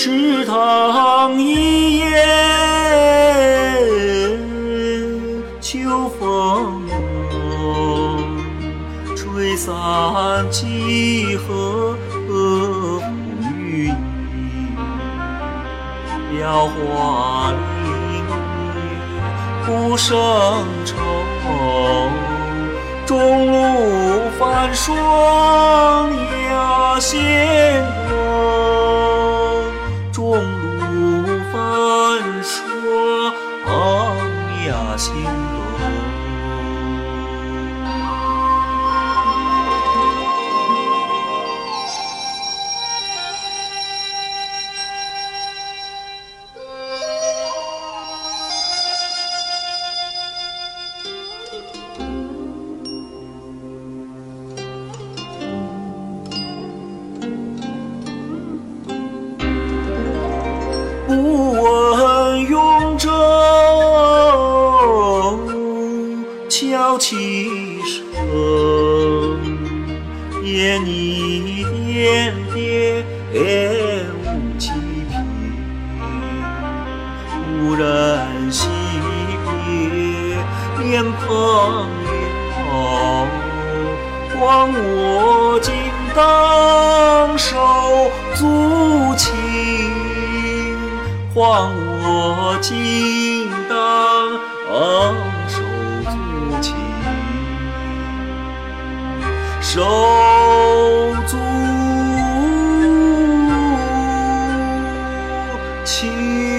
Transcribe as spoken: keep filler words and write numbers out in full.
池塘一夜秋风吹散几何风雨衣，雕花林不胜愁，中路繁霜压线光，中路繁霜压线光。不问永州敲其声，言你点点无其凭，无人惜别脸庞了，还我今当手足情，还我今当手足情，手足情。